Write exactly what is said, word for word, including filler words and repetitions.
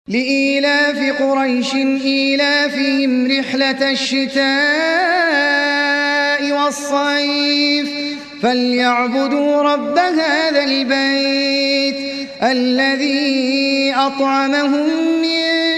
لإيلاف قريش إيلافهم رحلة الشتاء والصيف فليعبدوا رب هذا البيت الذي أطعمهم من